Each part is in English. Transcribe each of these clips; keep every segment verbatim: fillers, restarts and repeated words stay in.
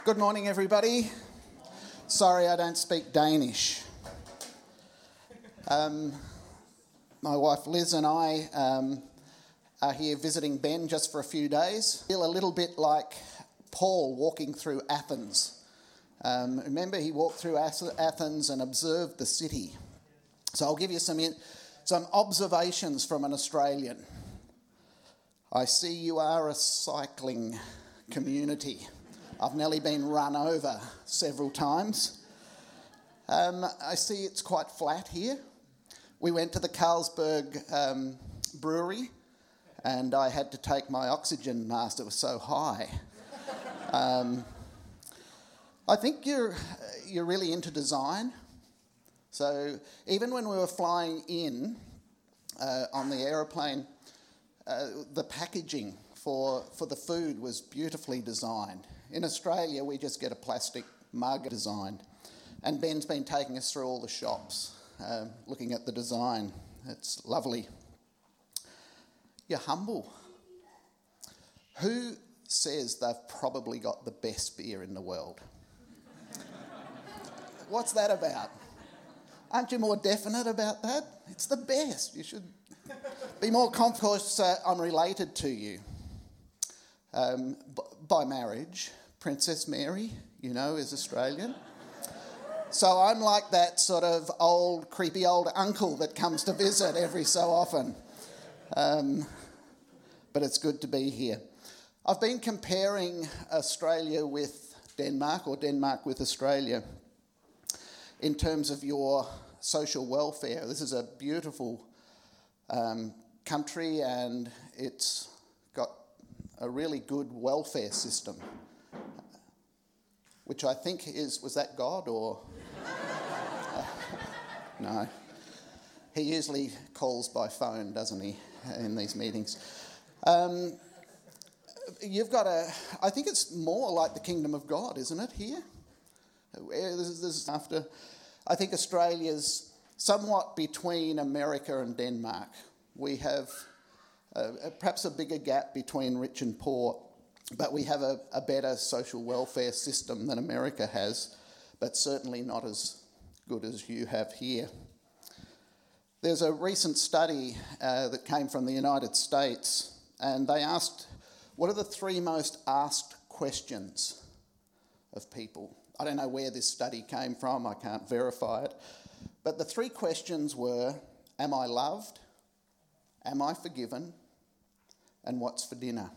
Good morning, everybody. Sorry I don't speak Danish. Um, my wife Liz and I um, are here visiting Ben just for a few days. I feel a little bit like Paul walking through Athens. Um, remember, he walked through Athens and observed the city. So I'll give you some, in, some observations from an Australian. I see you are a cycling community. I've nearly been run over several times. Um, I see it's quite flat here. We went to the Carlsberg um, brewery and I had to take my oxygen mask, it was so high. Um, I think you're, you're really into design. So even when we were flying in uh, on the aeroplane, uh, the packaging for, for the food was beautifully designed. In Australia, we just get a plastic mug designed. And Ben's been taking us through all the shops, um, looking at the design. It's lovely. You're humble. Who says they've probably got the best beer in the world? What's that about? Aren't you more definite about that? It's the best. You should be more confident. Of course, uh, I'm related to you um, b- by marriage. Princess Mary, you know, is Australian. So I'm like that sort of old, creepy old uncle that comes to visit every so often. Um, but it's good to be here. I've been comparing Australia with Denmark, or Denmark with Australia, in terms of your social welfare. This is a beautiful um, country and it's got a really good welfare system. Which I think is, was that God or? uh, no. He usually calls by phone, doesn't he, in these meetings. Um, you've got a, I think it's more like the kingdom of God, isn't it, here? This is, this is after, I think Australia's somewhat between America and Denmark. We have uh, perhaps a bigger gap between rich and poor. But we have a, a better social welfare system than America has, but certainly not as good as you have here. There's a recent study uh, that came from the United States, and they asked, what are the three most asked questions of people? I don't know where this study came from, I can't verify it, but the three questions were, am I loved? Am I forgiven? And what's for dinner?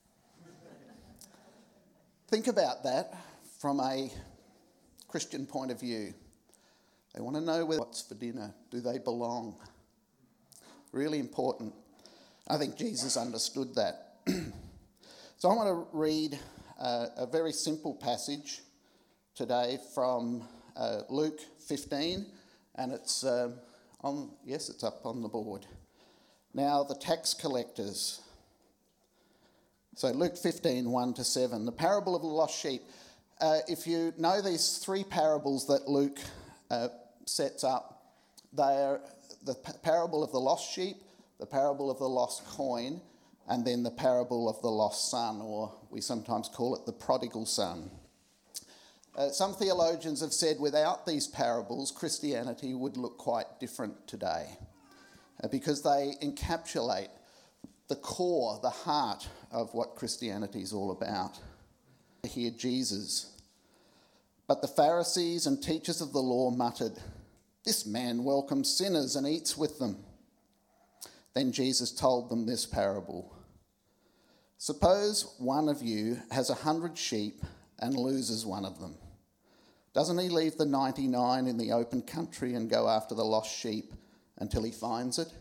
Think about that from a Christian point of view. They want to know what's for dinner. Do they belong? Really important. I think Jesus understood that. So I want to read uh, a very simple passage today from uh, Luke fifteen, and it's uh, on. Yes, it's up on the board. Now the tax collectors. So Luke fifteen, one to seven, the parable of the lost sheep. Uh, if you know these three parables that Luke uh, sets up, they are the p- parable of the lost sheep, the parable of the lost coin, and then the parable of the lost son, or we sometimes call it the prodigal son. Uh, some theologians have said without these parables, Christianity would look quite different today, uh, because they encapsulate the core, the heart of what Christianity is all about. Hear Jesus. But the Pharisees and teachers of the law muttered, "This man welcomes sinners and eats with them." Then Jesus told them this parable. Suppose one of you has a hundred sheep and loses one of them. Doesn't he leave the ninety-nine in the open country and go after the lost sheep until he finds it?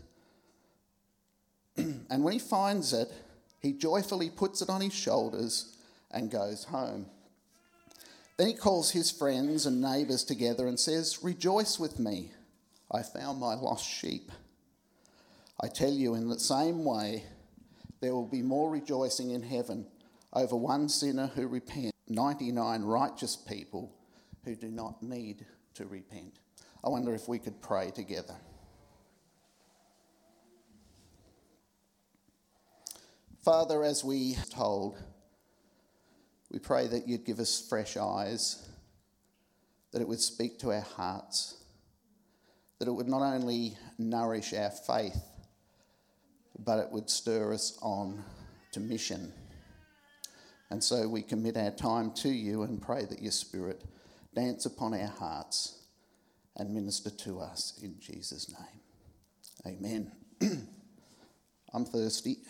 And when he finds it, he joyfully puts it on his shoulders and goes home. Then he calls his friends and neighbours together and says, "Rejoice with me, I found my lost sheep." I tell you, in the same way, there will be more rejoicing in heaven over one sinner who repents, ninety-nine righteous people who do not need to repent. I wonder if we could pray together. Father, as we told, We pray that you'd give us fresh eyes, that it would speak to our hearts, that it would not only nourish our faith, but it would stir us on to mission. And so we commit our time to you and pray that your Spirit dance upon our hearts and minister to us in Jesus' name. Amen. I'm thirsty.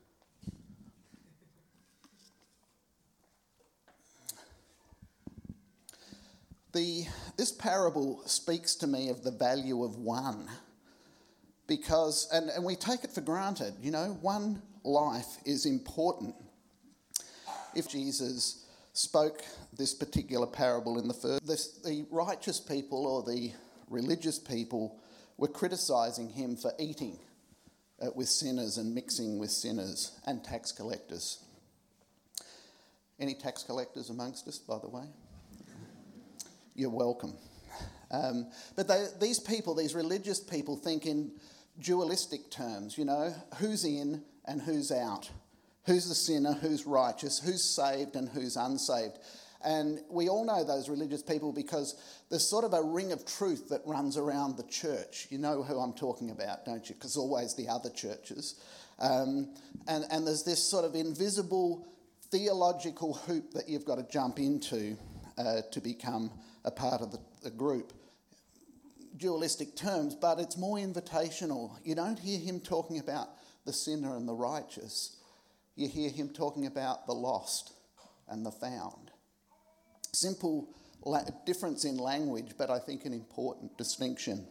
The, this parable speaks to me of the value of one, because, and, and we take it for granted, you know, one life is important. If Jesus spoke this particular parable in the first, this, the righteous people or the religious people were criticising him for eating uh, with sinners and mixing with sinners and tax collectors. Any tax collectors amongst us, by the way? You're welcome. Um, but they, these people, these religious people, think in dualistic terms, you know, who's in and who's out, who's the sinner, who's righteous, who's saved and who's unsaved. And we all know those religious people because there's sort of a ring of truth that runs around the church. You know who I'm talking about, don't you? Because always the other churches. Um, and, and there's this sort of invisible theological hoop that you've got to jump into uh, to become a part of the, the group. Dualistic terms, but it's more invitational. You don't hear him talking about the sinner and the righteous. You hear him talking about the lost and the found. Simple la- difference in language, but I think an important distinction.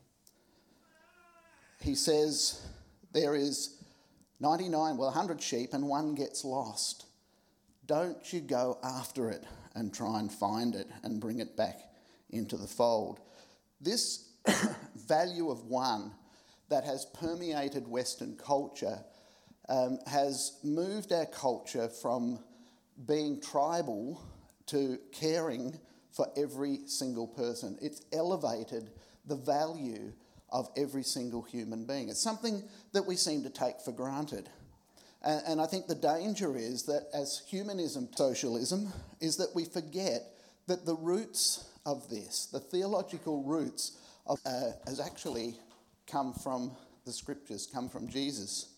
He says there is ninety-nine, well, one hundred sheep and one gets lost. Don't you go after it and try and find it and bring it back into the fold. This value of one that has permeated Western culture um, has moved our culture from being tribal to caring for every single person. It's elevated the value of every single human being. It's something that we seem to take for granted. And, and I think the danger is that as humanism, socialism, is that we forget that the roots of this, the theological roots, of, uh, has actually come from the scriptures, come from Jesus.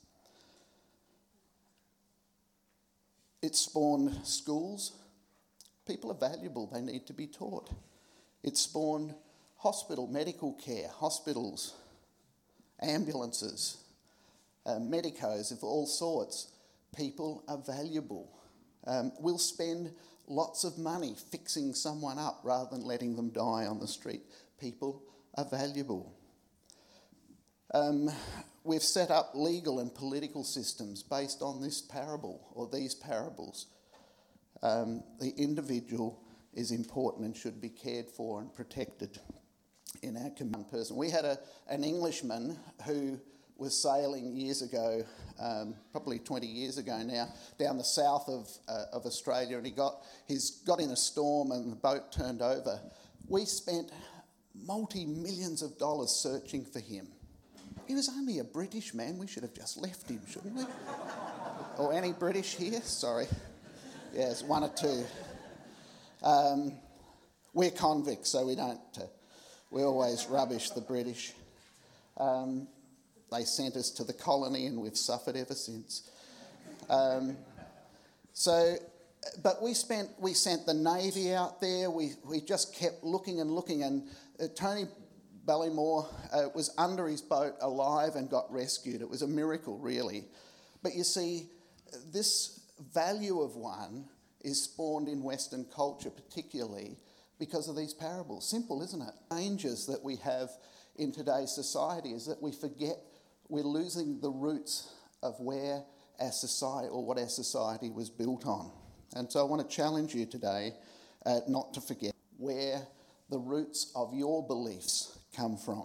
It spawned schools. People are valuable, they need to be taught. It spawned hospital, medical care, hospitals, ambulances, uh, medicos of all sorts. People are valuable. Um, we'll spend lots of money fixing someone up rather than letting them die on the street. People are valuable. Um, we've set up legal and political systems based on this parable or these parables. Um, the individual is important and should be cared for and protected in our common person. We had a, an Englishman who was sailing years ago, um, probably twenty years ago now, down the south of uh, of Australia, and he got he's got in a storm and the boat turned over. We spent multi-millions of dollars searching for him. He was only a British man. We should have just left him, shouldn't we? Or any British here? Sorry. Yes, one or two. Um, we're convicts, so we don't... Uh, we always rubbish the British. Um, they sent us to the colony and we've suffered ever since. Um, so, but we spent, we sent the Navy out there. We, we just kept looking and looking, and uh, Tony Ballymore uh, was under his boat alive and got rescued. It was a miracle, really. But you see, this value of one is spawned in Western culture particularly because of these parables. Simple, isn't it? Dangers that we have in today's society is that we forget we're losing the roots of where our society or what our society was built on. And so I want to challenge you today uh, not to forget where the roots of your beliefs come from.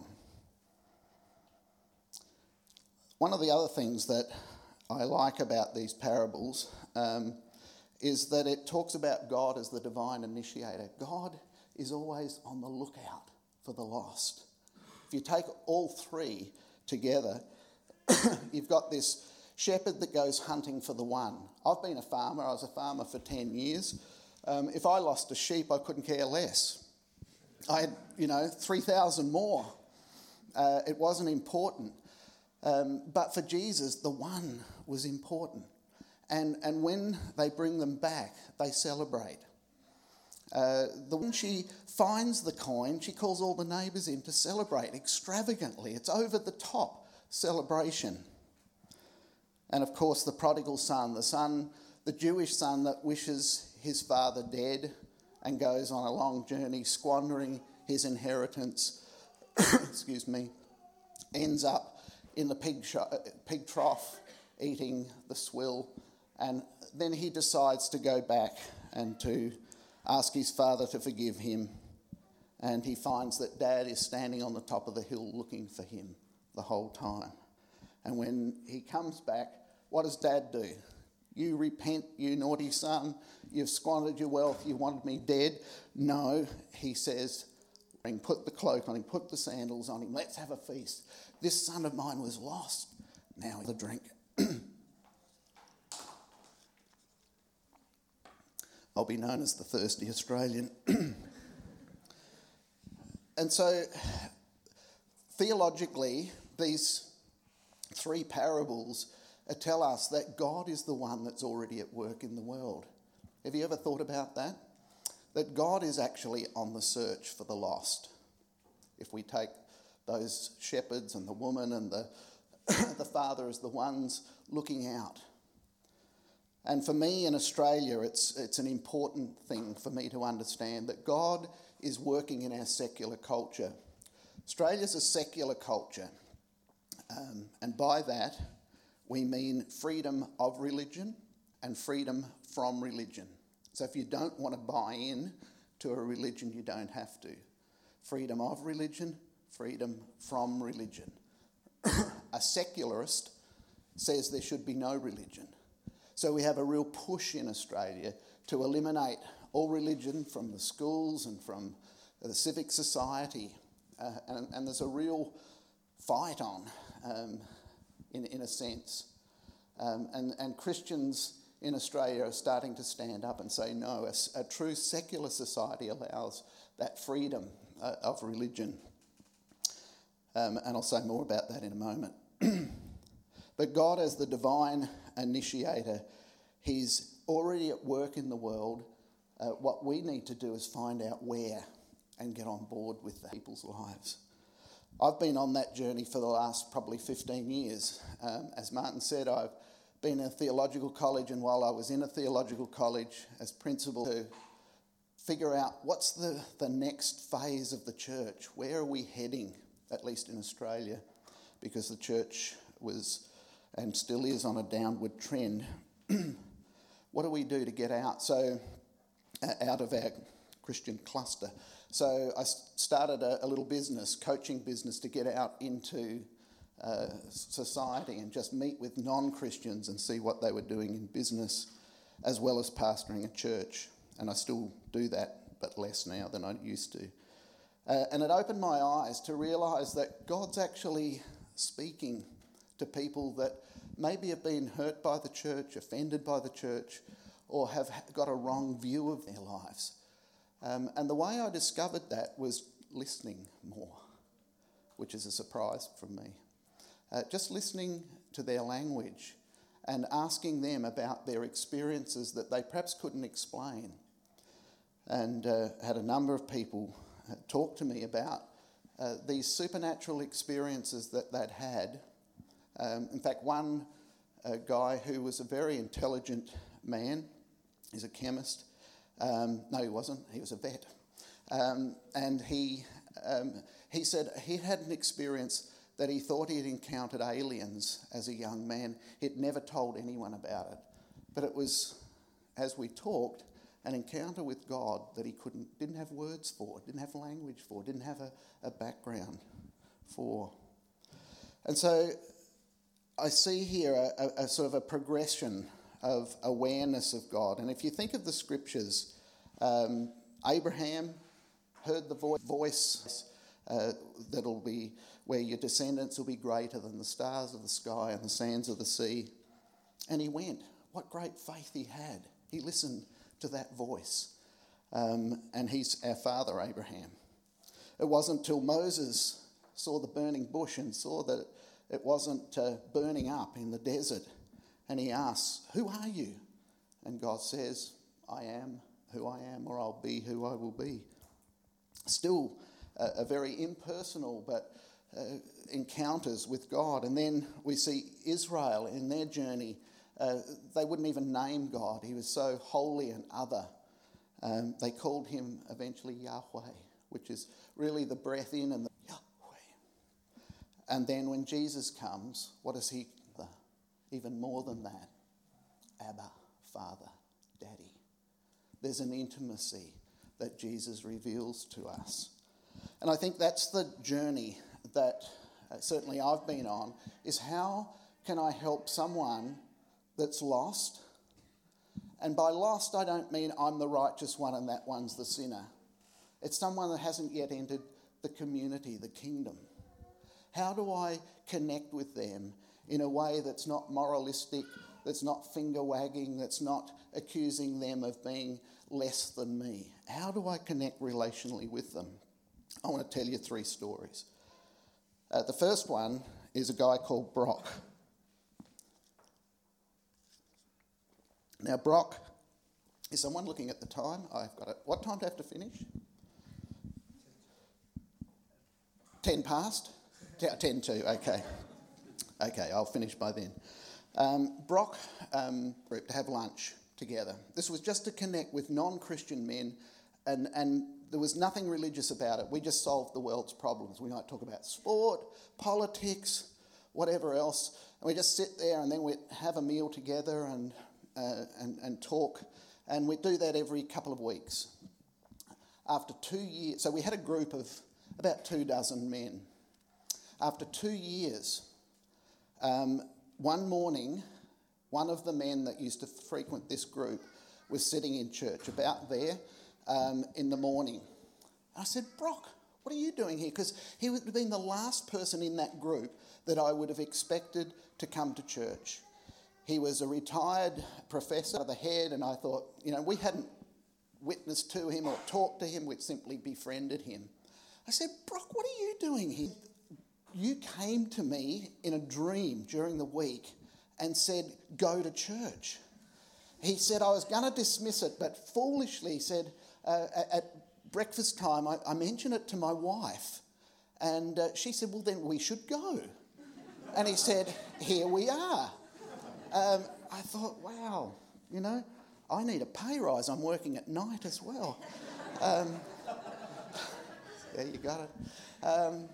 One of the other things that I like about these parables um, is that it talks about God as the divine initiator. God is always on the lookout for the lost. If you take all three together, you've got this shepherd that goes hunting for the one. I've been a farmer. I was a farmer for ten years. Um, if I lost a sheep, I couldn't care less. I had, you know, three thousand more. Uh, it wasn't important. Um, but for Jesus, the one was important. And, and when they bring them back, they celebrate. Uh, the when she finds the coin, she calls all the neighbours in to celebrate extravagantly. It's over the top celebration. And of course, the prodigal son, the son, the Jewish son that wishes his father dead and goes on a long journey, squandering his inheritance, excuse me, ends up in the pig, sh- pig trough eating the swill. And then he decides to go back and to ask his father to forgive him. And he finds that Dad is standing on the top of the hill looking for him the whole time. And when he comes back, what does Dad do? You repent, you naughty son. You've squandered your wealth. You wanted me dead. No, he says, put the cloak on him, put the sandals on him. Let's have a feast. This son of mine was lost. Now he'll drink. I'll be known as the thirsty Australian. And so, theologically, these three parables tell us that God is the one that's already at work in the world. Have you ever thought about that? That God is actually on the search for the lost. If we take those shepherds and the woman and the, the father as the ones looking out. And for me in Australia, it's it's an important thing for me to understand that God is working in our secular culture. Australia's a secular culture. Um, and by that, we mean freedom of religion and freedom from religion. So if you don't want to buy in to a religion, you don't have to. Freedom of religion, freedom from religion. A secularist says there should be no religion. So we have a real push in Australia to eliminate all religion from the schools and from the civic society. Uh, and, and there's a real fight on, um, in, in a sense. Um, and, and Christians in Australia are starting to stand up and say, no, a, a true secular society allows that freedom uh, of religion. Um, and I'll say more about that in a moment. But God, as the divine initiator, he's already at work in the world. Uh, what we need to do is find out where and get on board with the people's lives. I've been on that journey for the last probably fifteen years. Um, as Martin said, I've been in a theological college, and while I was in a theological college as principal, to figure out what's the, the next phase of the church. Where are we heading, at least in Australia, because the church was and still is on a downward trend. What do we do to get out? So, uh, out of our Christian cluster. So I started a, a little business, coaching business, to get out into uh, society and just meet with non-Christians and see what they were doing in business, as well as pastoring a church. And I still do that, but less now than I used to. Uh, and it opened my eyes to realise that God's actually speaking to people that maybe have been hurt by the church, offended by the church, or have got a wrong view of their lives. Um, and the way I discovered that was listening more, which is a surprise from me. Uh, just listening to their language and asking them about their experiences that they perhaps couldn't explain. And uh, had a number of people uh, talk to me about uh, these supernatural experiences that they'd had. Um, in fact, one uh, guy who was a very intelligent man, he's a chemist. Um, no, he wasn't. He was a vet. Um, and he um, he said he had an experience that he thought he had encountered aliens as a young man. He'd never told anyone about it. But it was, as we talked, an encounter with God that he couldn't, didn't have words for, didn't have language for, didn't have a, a background for. And so I see here a, a, a sort of a progression of awareness of God. And if you think of the scriptures, um, Abraham heard the vo- voice uh, that'll be where your descendants will be greater than the stars of the sky and the sands of the sea. And he went. What great faith he had. He listened to that voice. Um, and he's our father, Abraham. It wasn't till Moses saw the burning bush and saw that it wasn't uh, burning up in the desert. And he asks, who are you? And God says, I am who I am, or I'll be who I will be. Still uh, a very impersonal but uh, encounters with God. And then we see Israel in their journey. Uh, they wouldn't even name God. He was so holy and other. Um, they called him eventually Yahweh, which is really the breath in and the Yahweh. And then when Jesus comes, what is he? Even more than that, Abba, Father, Daddy. There's an intimacy that Jesus reveals to us. And I think that's the journey that uh, certainly I've been on, is how can I help someone that's lost? And by lost, I don't mean I'm the righteous one and that one's the sinner. It's someone that hasn't yet entered the community, the kingdom. How do I connect with them in a way that's not moralistic, that's not finger-wagging, that's not accusing them of being less than me? How do I connect relationally with them? I want to tell you three stories. Uh, the first one is a guy called Brock. Now, Brock, is someone looking at the time? I've got it. What time do I have to finish? Ten past? Ten to, okay. Okay, I'll finish by then. Um, Brock um, group to have lunch together. This was just to connect with non-Christian men, and, and there was nothing religious about it. We just solved the world's problems. We might talk about sport, politics, whatever else, and we just sit there and then we'd have a meal together and, uh, and, and talk, and we'd do that every couple of weeks. After two years, so we had a group of about two dozen men. After two years, Um, one morning, one of the men that used to frequent this group was sitting in church, about there, um, in the morning. I said, Brock, what are you doing here? Because he would have been the last person in that group that I would have expected to come to church. He was a retired professor of the head, and I thought, you know, we hadn't witnessed to him or talked to him, we'd simply befriended him. I said, Brock, what are you doing here? You came to me in a dream during the week and said, go to church. He said, I was going to dismiss it, but foolishly, he said, uh, at breakfast time, I, I mentioned it to my wife. And uh, she said, well, then we should go. And he said, here we are. Um, I thought, wow, you know, I need a pay rise. I'm working at night as well. Um, yeah, you got it. Um,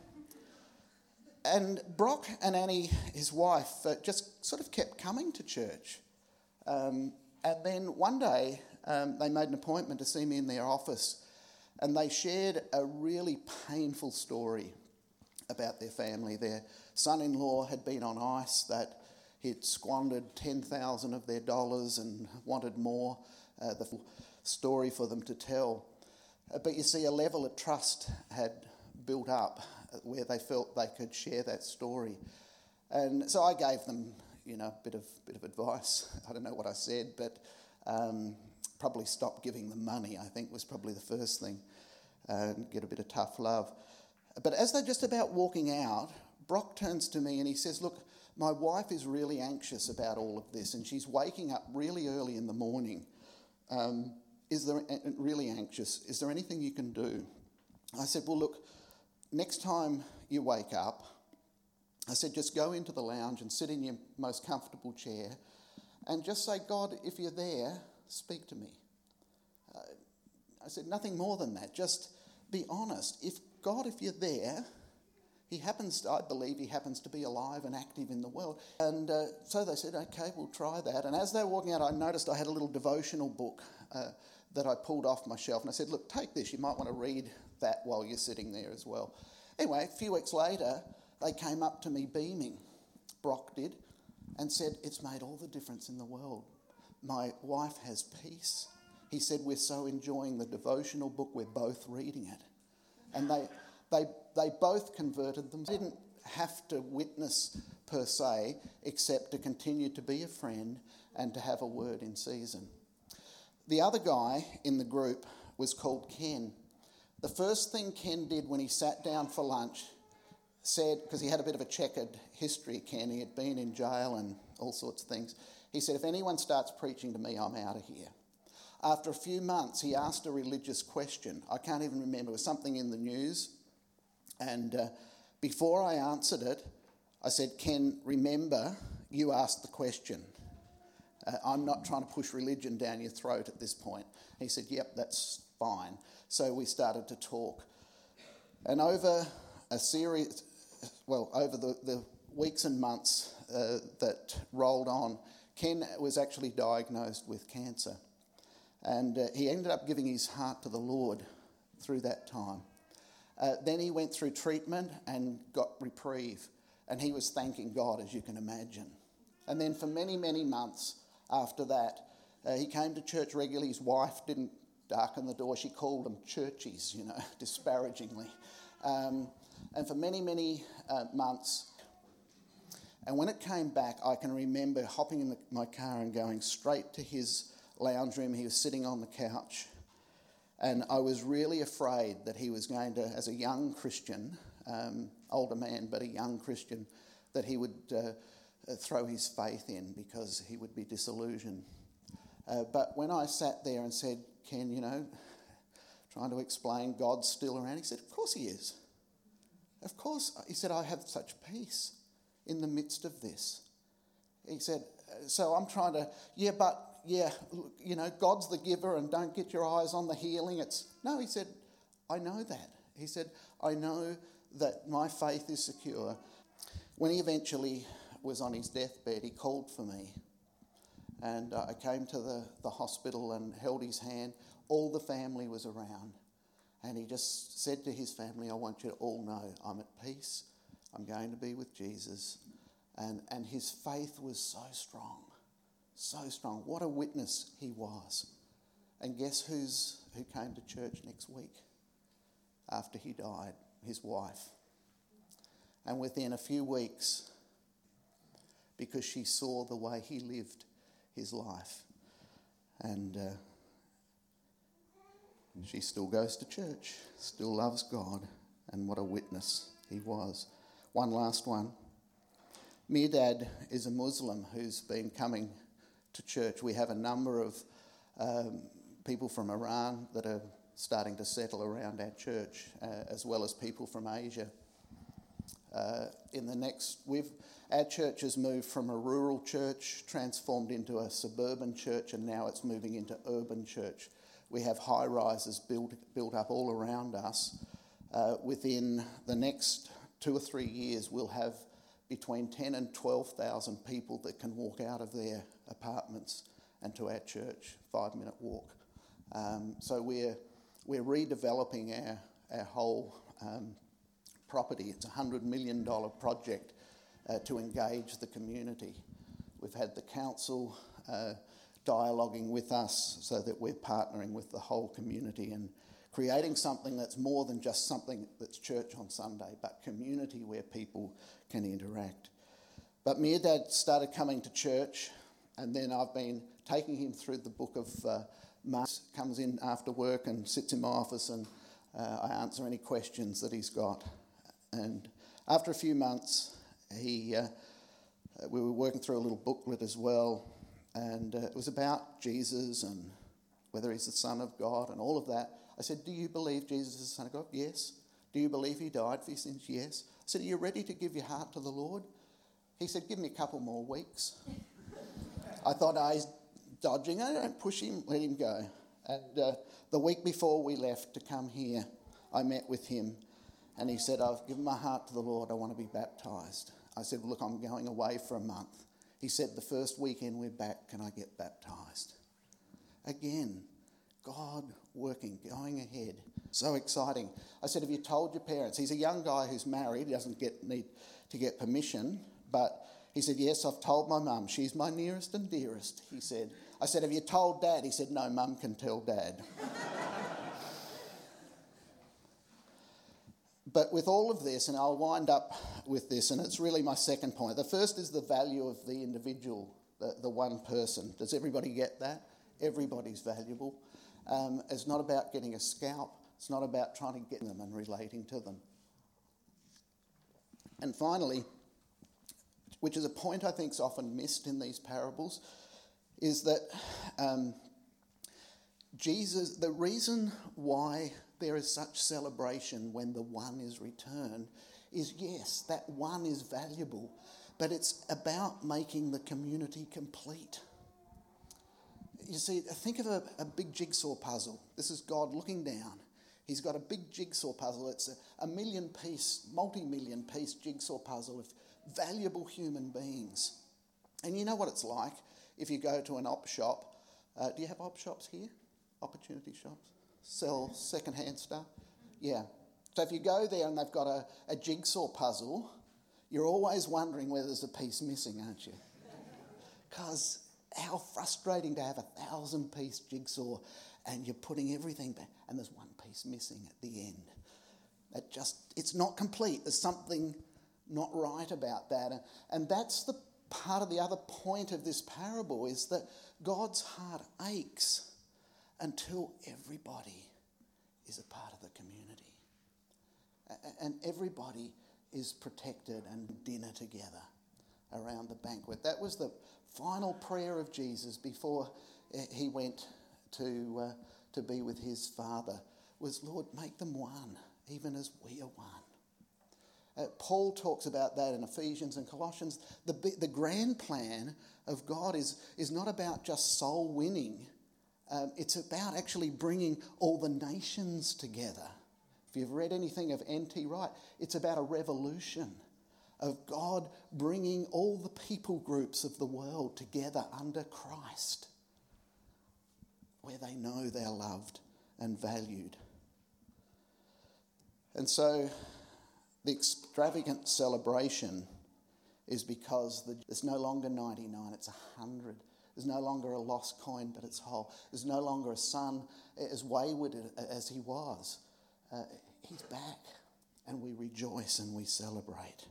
And Brock and Annie, his wife, uh, just sort of kept coming to church. Um, and then one day um, they made an appointment to see me in their office, and they shared a really painful story about their family. Their son-in-law had been on ice, that he'd squandered ten thousand dollars of their dollars and wanted more, uh, the story for them to tell. Uh, but you see, a level of trust had built up where they felt they could share that story. And so I gave them, you know, a bit of bit of advice. I don't know what I said, but um, probably stop giving them money, I think, was probably the first thing, uh, and get a bit of tough love. But as they're just about walking out, Brock turns to me and he says, look, my wife is really anxious about all of this, and she's waking up really early in the morning. Um, is there really anxious? Is there anything you can do? I said, well, look, next time you wake up, I said, just go into the lounge and sit in your most comfortable chair and just say, God, if you're there, speak to me. Uh, I said, nothing more than that. Just be honest. If God, if you're there, he happens, to, I believe he happens to be alive and active in the world. And uh, so they said, okay, we'll try that. And as they were walking out, I noticed I had a little devotional book uh, that I pulled off my shelf. And I said, look, take this. You might want to read that while you're sitting there as well. Anyway, a few weeks later, they came up to me beaming, Brock did, and said, it's made all the difference in the world. My wife has peace. He said, we're so enjoying the devotional book, we're both reading it. And they they they both converted them. Didn't have to witness per se, except to continue to be a friend and to have a word in season. The other guy in the group was called Ken. The first thing Ken did when he sat down for lunch, said, because he had a bit of a checkered history, Ken, he had been in jail and all sorts of things. He said, if anyone starts preaching to me, I'm out of here. After a few months, he asked a religious question. I can't even remember. It was something in the news. And uh, before I answered it, I said, Ken, remember, you asked the question. Uh, I'm not trying to push religion down your throat at this point. He said, yep, that's fine. So we started to talk. And over a series, well, over the, the weeks and months uh, that rolled on, Ken was actually diagnosed with cancer. And uh, he ended up giving his heart to the Lord through that time. Uh, then he went through treatment and got reprieve. And he was thanking God, as you can imagine. And then for many, many months after that, uh, he came to church regularly. His wife didn't darken the door. She called them churchies, you know, disparagingly. Um, and for many, many uh, months. And when it came back, I can remember hopping in the, my car and going straight to his lounge room. He was sitting on the couch. And I was really afraid that he was going to, as a young Christian, um, older man, but a young Christian, that he would uh, throw his faith in because he would be disillusioned. Uh, but when I sat there and said, Ken, you know, trying to explain God's still around, he said, of course he is. Of course. He said, I have such peace in the midst of this. He said, so I'm trying to, yeah, but, yeah, you know, God's the giver and don't get your eyes on the healing. It's no, he said, I know that. He said, I know that my faith is secure. When he eventually was on his deathbed, he called for me. And uh, I came to the, the hospital and held his hand. All the family was around. And he just said to his family, I want you to all know I'm at peace. I'm going to be with Jesus. And, and his faith was so strong, so strong. What a witness he was. And guess who's who came to church next week after he died? His wife. And within a few weeks, because she saw the way he lived his life, and uh, she still goes to church, still loves God, and what a witness he was. One last one. Mirdad is a Muslim who's been coming to church. We have a number of um, people from Iran that are starting to settle around our church, uh, as well as people from Asia. Uh, in the next, we've our church has moved from a rural church, transformed into a suburban church, and now it's moving into urban church. We have high rises built built up all around us. Uh, within the next two or three years, we'll have between ten and twelve thousand people that can walk out of their apartments and to our church, five minute walk. Um, so we're we're redeveloping our our whole um, property. It's a one hundred million dollars project uh, to engage the community. We've had the council uh, dialoguing with us so that we're partnering with the whole community and creating something that's more than just something that's church on Sunday, but community where people can interact. But Mirdad started coming to church, and then I've been taking him through the book of uh, Mark. Comes in after work and sits in my office, and uh, I answer any questions that he's got. And after a few months, he uh, we were working through a little booklet as well, and uh, it was about Jesus and whether he's the Son of God and all of that. I said, do you believe Jesus is the Son of God? Yes. Do you believe he died for your sins? Yes. I said, are you ready to give your heart to the Lord? He said, give me a couple more weeks. I thought, oh, he's dodging. I don't push him, let him go. And uh, the week before we left to come here, I met with him, and he said, I've given my heart to the Lord. I want to be baptised. I said, well, look, I'm going away for a month. He said, the first weekend we're back, can I get baptised? Again, God working, going ahead. So exciting. I said, have you told your parents? He's a young guy who's married. He doesn't get need to get permission. But he said, yes, I've told my mum. She's my nearest and dearest, he said. I said, have you told Dad? He said, no, Mum can tell Dad. But with all of this, and I'll wind up with this, and it's really my second point. The first is the value of the individual, the, the one person. Does everybody get that? Everybody's valuable. Um, it's not about getting a scalp. It's not about trying to get them and relating to them. And finally, which is a point I think is often missed in these parables, is that um, Jesus, the reason why there is such celebration when the one is returned is, yes, that one is valuable, but it's about making the community complete. You see, think of a, a big jigsaw puzzle. This is God looking down. He's got a big jigsaw puzzle. It's a, a million piece, multi-million piece jigsaw puzzle of valuable human beings. And you know what it's like if you go to an op shop. Uh, do you have op shops here? Opportunity shops? Sell second-hand stuff? Yeah. So if you go there and they've got a, a jigsaw puzzle, you're always wondering whether there's a piece missing, aren't you? Because how frustrating to have a thousand-piece jigsaw and you're putting everything back and there's one piece missing at the end. That just, it's not complete. There's something not right about that. And that's the part of the other point of this parable, is that God's heart aches until everybody is a part of the community. And everybody is protected and dinner together around the banquet. That was the final prayer of Jesus before he went to uh, to be with his Father, was, Lord, make them one, even as we are one. Uh, Paul talks about that in Ephesians and Colossians. The, the grand plan of God is, is not about just soul winning. Um, it's about actually bringing all the nations together. If you've read anything of N T Wright, it's about a revolution of God bringing all the people groups of the world together under Christ, where they know they're loved and valued. And so the extravagant celebration is because the, it's no longer ninety-nine, it's one hundred. There's no longer a lost coin, but it's whole. There's no longer a son as wayward as he was. Uh, he's back, and we rejoice and we celebrate.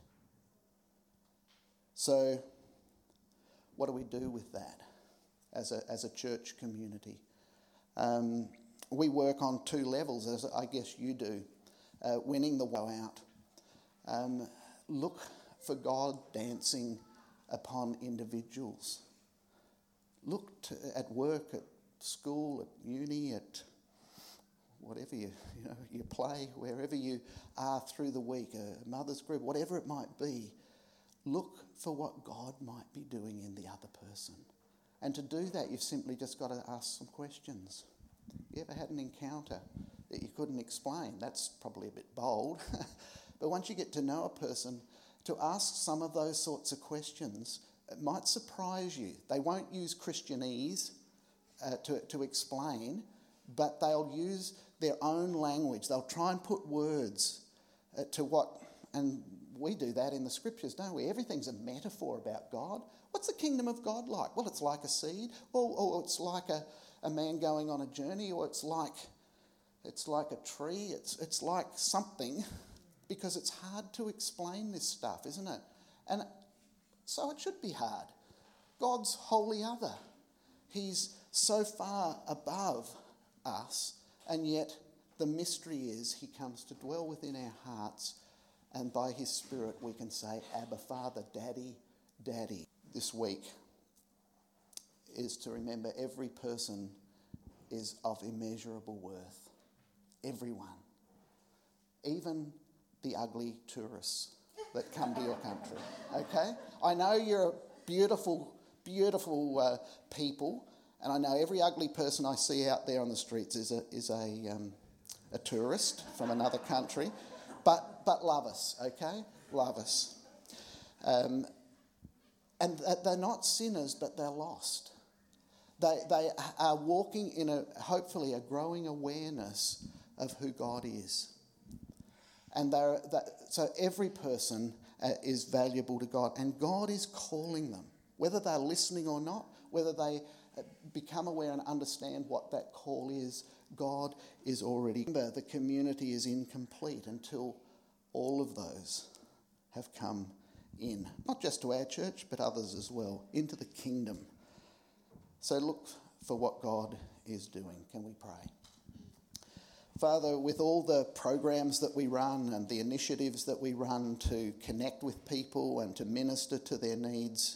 So what do we do with that as a, as a church community? Um, we work on two levels, as I guess you do. Uh, winning the woe out. Um, look for God dancing upon individuals. Look to, at work, at school, at uni, at whatever you, you know, you play, wherever you are through the week, a mother's group, whatever it might be. Look for what God might be doing in the other person. And to do that, you've simply just got to ask some questions. You ever had an encounter that you couldn't explain? That's probably a bit bold. But once you get to know a person, to ask some of those sorts of questions, it might surprise you. They won't use Christianese uh, to, to explain, but they'll use their own language. They'll try and put words uh, to what, and we do that in the scriptures, don't we? Everything's a metaphor about God. What's the kingdom of God like? Well, it's like a seed, or, or it's like a, a man going on a journey, or it's like it's like a tree. It's it's like something, because it's hard to explain this stuff, isn't it? And so it should be hard. God's wholly other. He's so far above us, and yet the mystery is he comes to dwell within our hearts, and by his Spirit we can say, Abba, Father, Daddy, Daddy. This week is to remember every person is of immeasurable worth. Everyone. Even the ugly tourists that come to your country. Okay? I know you're beautiful, beautiful uh, people, and I know every ugly person I see out there on the streets is a is a um, a tourist from another country, but but love us, okay? Love us. Um, and they're not sinners, but they're lost. They they are walking in a hopefully a growing awareness of who God is. And they're, that, so every person uh, is valuable to God, and God is calling them, whether they're listening or not, whether they uh, become aware and understand what that call is. God is already. Remember, the community is incomplete until all of those have come in, not just to our church, but others as well, into the kingdom. So look for what God is doing. Can we pray? Father, with all the programs that we run and the initiatives that we run to connect with people and to minister to their needs,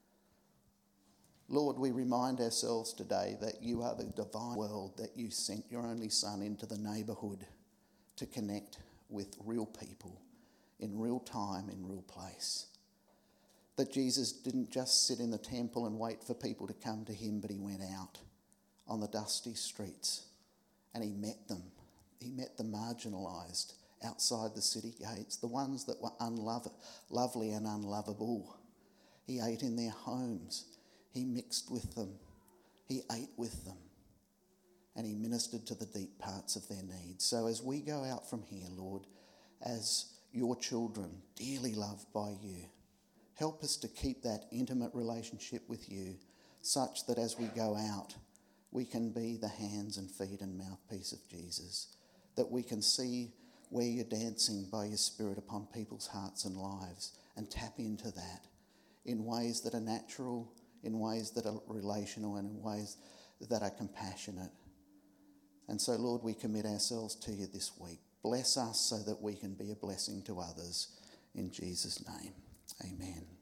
Lord, we remind ourselves today that you are the divine world, that you sent your only Son into the neighbourhood to connect with real people in real time, in real place. That Jesus didn't just sit in the temple and wait for people to come to him, but he went out on the dusty streets and he met them. He met the marginalised outside the city gates, the ones that were unlovely lovely and unlovable. He ate in their homes. He mixed with them. He ate with them. And he ministered to the deep parts of their needs. So as we go out from here, Lord, as your children, dearly loved by you, help us to keep that intimate relationship with you such that as we go out, we can be the hands and feet and mouthpiece of Jesus, that we can see where you're dancing by your Spirit upon people's hearts and lives and tap into that in ways that are natural, in ways that are relational, and in ways that are compassionate. And so, Lord, we commit ourselves to you this week. Bless us so that we can be a blessing to others. In Jesus' name, amen.